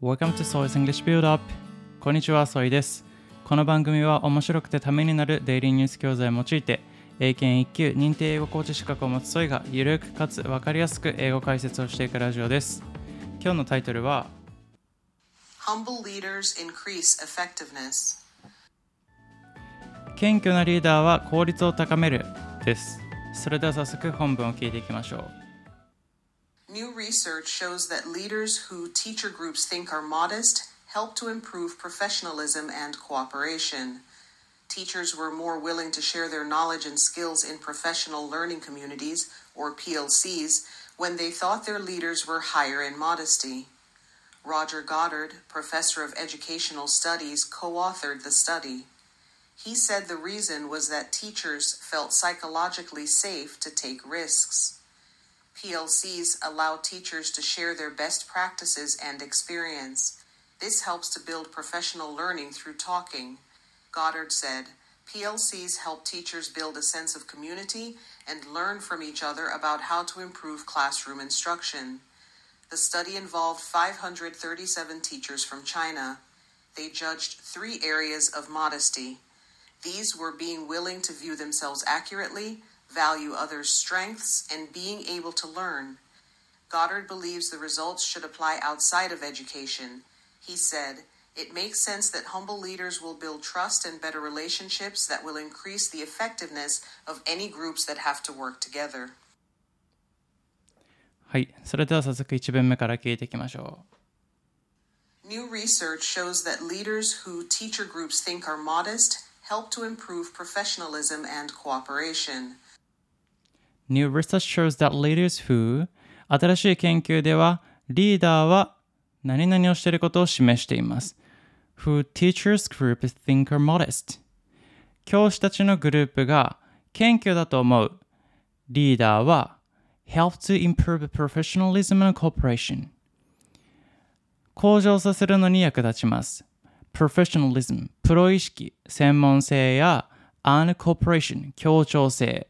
Welcome to Soy's English Build Up。こんにちは、ソイです。この番組は面白くてためになるデイリーニュース教材を用いて、英検1級認定英語コーチ資格を持つソイがゆるくかつ分かりやすく英語解説をしていくラジオです。今日のタイトルは Humble leaders increase effectiveness。 謙虚なリーダーは効率を高めるです。それでは早速本文を聞いていきましょう。 New research shows that leaders who teacher groups think are modest help to improve professionalism and cooperation. Teachers were more willing to share their knowledge and skills in professional learning communities, or PLCs, when they thought their leaders were higher in modesty. Roger Goddard, professor of educational studies, co-authored the study.He said the reason was that teachers felt psychologically safe to take risks. PLCs allow teachers to share their best practices and experience. This helps to build professional learning through talking. Goddard said, PLCs help teachers build a sense of community and learn from each other about how to improve classroom instruction. The study involved 537 teachers from China. They judged 3 areas of modesty.These were being willing to view themselves accurately, value others' strengths, and being able to learn. Goddard believes the results should apply outside of education. He said, "It makes sense that humble leaders will build trust and better relationships that will increase the effectiveness of any groups that have to work together." はい、それでは早速1文目から聞いていきましょう。New research shows that leaders who teacher groups think are modest,help to improve professionalism and cooperation. New research shows that leaders who 新しい研究ではリーダーは何々をしていることを示しています。Who teachers group think are modest. 教師たちのグループが謙虚だと思うリーダーは help to improve professionalism and cooperation. 向上させるのに役立ちます。professionalism プロ意識、専門性や and cooperation 協調性。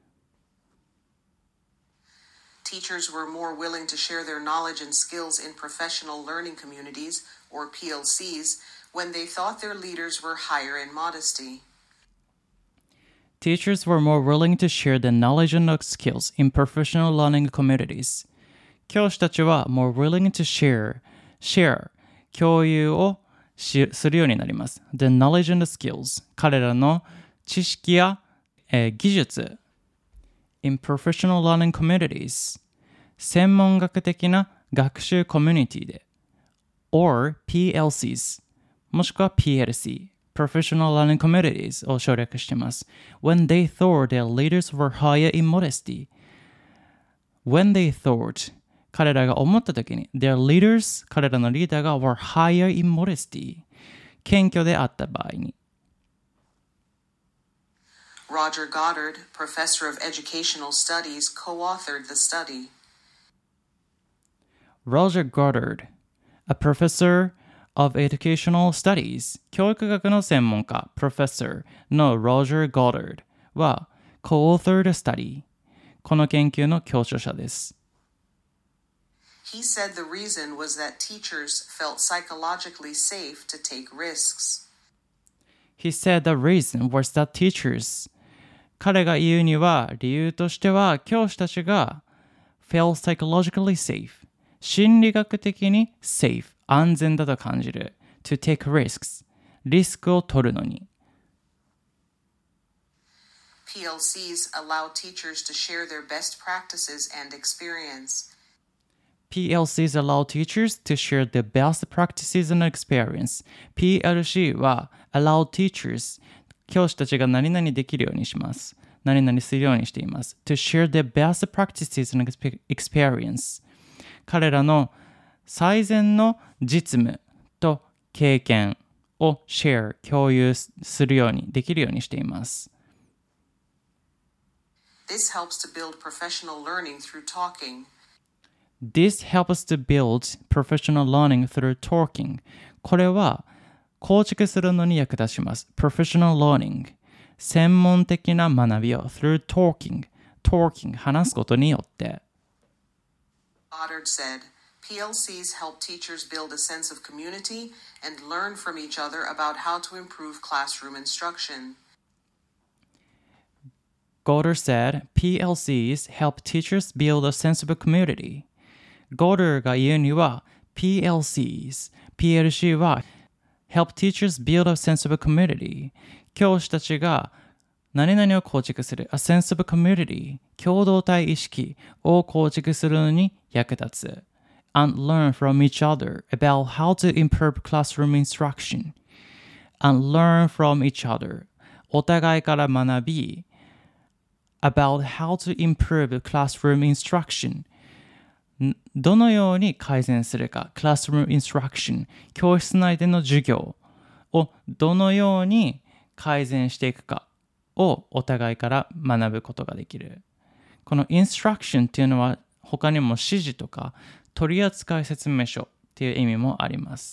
Teachers were more willing to share their knowledge and skills in professional learning communities, or PLCs, when they thought their leaders were higher in modesty. Teachers were more willing to share their knowledge and skills in professional learning communities. 教師たちは more willing to share 共有をするようになります。The knowledge and skills 彼らの知識や、技術 in professional learning communities 専門学的な学習コミュニティで or PLCs もしくは PLC professional learning communities を省略しています。When they thought their leaders were higher in modesty when they thought彼らが思ったときに their leaders 彼らのリーダーが were higher in modesty 謙虚であった場合に Roger Goddard, professor of educational studies, co-authored the study. Roger Goddard, a professor of educational studies 教育学の専門家 professor の Roger Goddard は co-authored a study この研究の協調者です。 He said the reason was that teachers felt psychologically safe to take risks. He said the reason was that teachers 彼が言うには理由としては教師たちが felt psychologically safe 心理学的に safe 安全だと感じる to take risks リスクを取るのに PLCs allow teachers to share their best practices and experience.PLCs allow teachers to share their best practices and experience. PLC は allow teachers 教師たちが何々できるようにします。何々するようにしています。To share their best practices and experience. 彼らの最善の実務と経験を share 共有するようにできるようにしています。 This helps to build professional learning through talking.This helps to build professional learning through talking. これは構築するのに役立ちます。Professional learning. 専門的な学びを through talking. Talking. 話すことによって。 Goddard said, PLCs help teachers build a sense of community and learn from each other about how to improve classroom instruction. Goddard said, PLCs help teachers build a sense of community. Goddard が言うには、PLC は help teachers build a sense of community. 教師たちが何々を構築する a sense of community 共同体意識を構築するのに役立つ and learn from each other about how to improve classroom instruction and learn from each other お互いから学び about how to improve classroom instruction どのように改善するか classroom instruction 教室内での授業をどのように改善していくかをお互いから学ぶことができる。この instruction っていうのは他にも指示とか取扱説明書っていう意味もあります。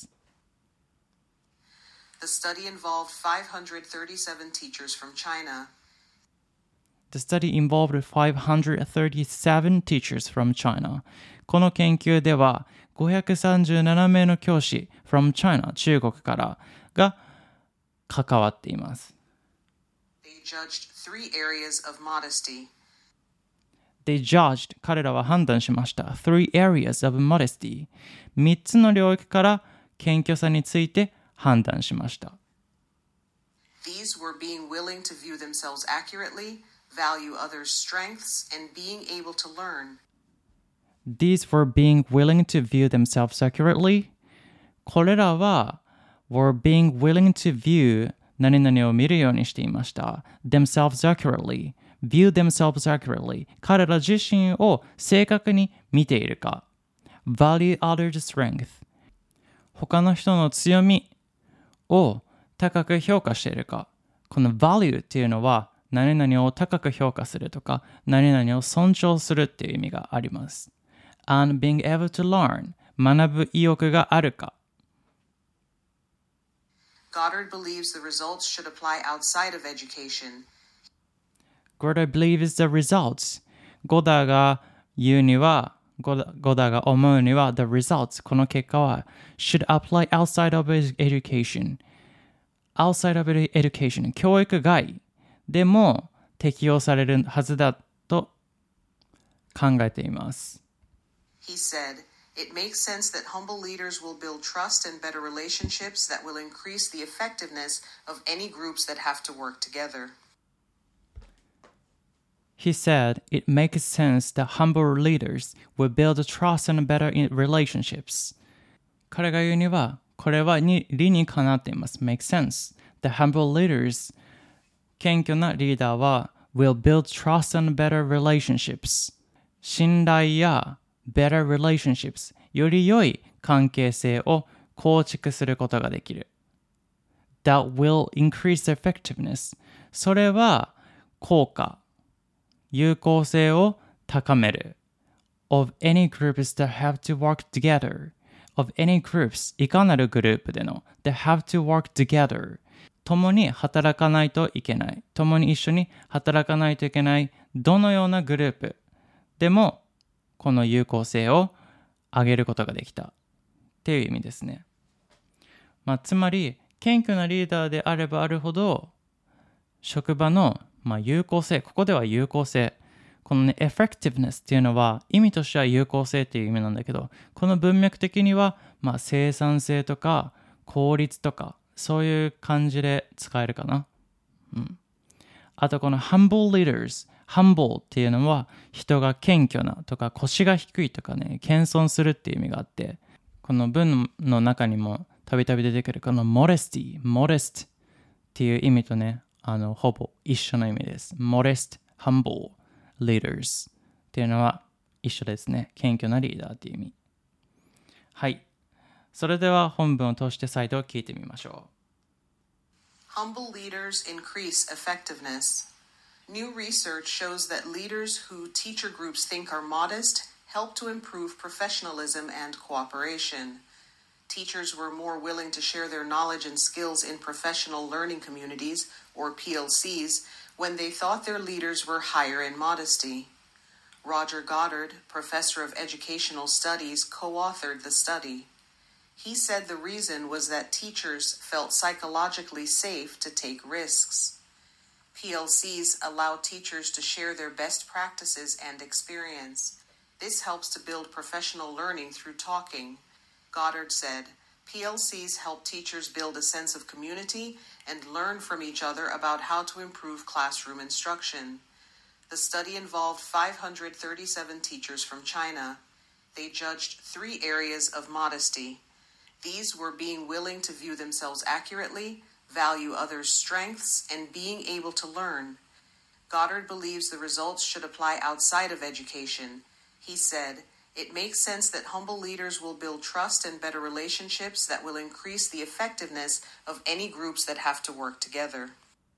The study involved 537 teachers from China. The study involved 537 teachers from China. この研究では537名の教師 from China 中国からが関わっています。 They judged 3 areas of modesty. They judged 彼らは判断しました。3 areas of modesty 3つの領域から謙虚さについて判断しました。 These were being willing to view themselves accurately, value others' strengths, and being able to learn. These were being willing to view themselves accurately. これらは were being willing to view 何々を見るようにしていました。themselves accurately. view themselves accurately. 彼ら自身を正確に見ているか。value others' strength. 他の人の強みを高く評価しているか。この value っていうのは何々を高く評価するとか何々を尊重するっていう意味があります。and being able to learn 学ぶ意欲があるか。 Goddard believes the results should apply outside of education. Goddard believes the results ゴダが言うにはゴダが思うには the results この結果は should apply outside of education outside of education 教育外でも適用されるはずだと考えています。 He said, it makes sense that humble leaders will build trust and better relationships that will increase the effectiveness of any groups that have to work together. He said, it makes sense that humble leaders will build trust and better relationships. 彼が言うには、これは理にかなっています。make sense. The humble leaders 謙虚なリーダーは will build trust and better relationships 信頼や better relationships より良い関係性を構築することができる that will increase the effectiveness それは効果有効性を高める of any groups that have to work together of any groups いかなるグループでの that have to work together共に働かないといけない。共に一緒に働かないといけない。どのようなグループでもこの有効性を上げることができたっていう意味ですね。つまり謙虚なリーダーであればあるほど職場の有効性、ここでは有効性。このね、effectiveness っていうのは意味としては有効性っていう意味なんだけど、この文脈的には生産性とか効率とかそういう感じで使えるかな。あとこの humble leaders。humble っていうのは人が謙虚なとか腰が低いとかね、謙遜するっていう意味があって、この文の中にもたびたび出てくるこの modest っていう意味とね、ほぼ一緒の意味です。modest, humble leaders っていうのは一緒ですね。謙虚なリーダーっていう意味。はい。それでは本文を通して再度聞いてみましょう。Humble leaders increase effectiveness. New research shows that leaders who teacher groups think are modest help to improve professionalism and cooperation. Teachers were more willing to share their knowledge and skills in professional learning communities, or PLCs, when they thought their leaders were higher in modesty. Roger Goddard, professor of educational studies, co-authored the study. He said the reason was that teachers felt psychologically safe to take risks. PLCs allow teachers to share their best practices and experience. This helps to build professional learning through talking. Goddard said, PLCs help teachers build a sense of community and learn from each other about how to improve classroom instruction. The study involved 537 teachers from China. They judged 3 areas of modesty. These were being willing to view themselves accurately, value others' strengths, and being able to learn. Goddard believes the results should apply outside of education. He said, "It makes sense that humble leaders will build trust and better relationships that will increase the effectiveness of any groups that have to work together."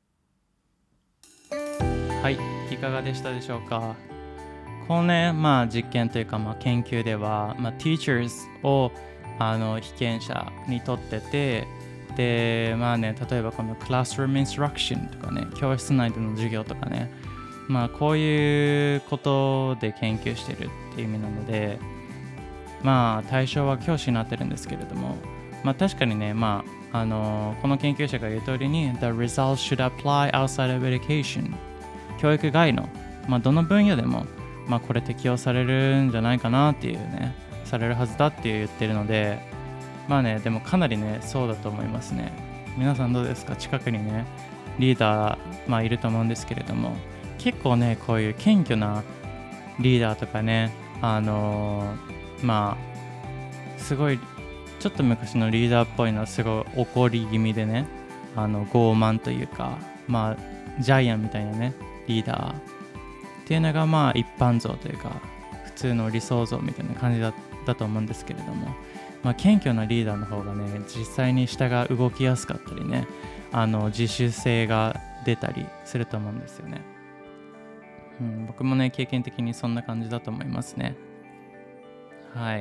はい、いかがでしたでしょうか。このね、実験というか、研究では、teachers を被験者にとってて、で、例えばこのクラスルームインストラクションとかね、教室内での授業とかね、こういうことで研究してるっていう意味なので、対象は教師になってるんですけれども、確かにね、この研究者が言う通りに The results should apply outside of education 教育外の、どの分野でも、これ適用されるんじゃないかなっていうね、されるはずだって言ってるので、でもかなりね、そうだと思いますね。皆さんどうですか？近くにね、リーダー、いると思うんですけれども、結構ね、こういう謙虚なリーダーとかね、すごい、ちょっと昔のリーダーっぽいのはすごい怒り気味でね、傲慢というか、ジャイアンみたいなね、リーダーっていうのが一般像というか、普通の理想像みたいな感じだと思うんですけれども、謙虚なリーダーの方がね、実際に下が動きやすかったりね、自主性が出たりすると思うんですよね。僕もね、経験的にそんな感じだと思いますね。はい。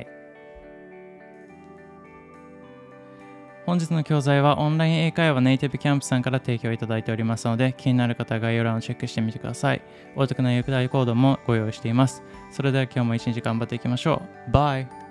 本日の教材はオンライン英会話ネイティブキャンプさんから提供いただいておりますので、気になる方は概要欄をチェックしてみてください。お得な優待コードもご用意しています。それでは今日も一日頑張っていきましょう。バイ。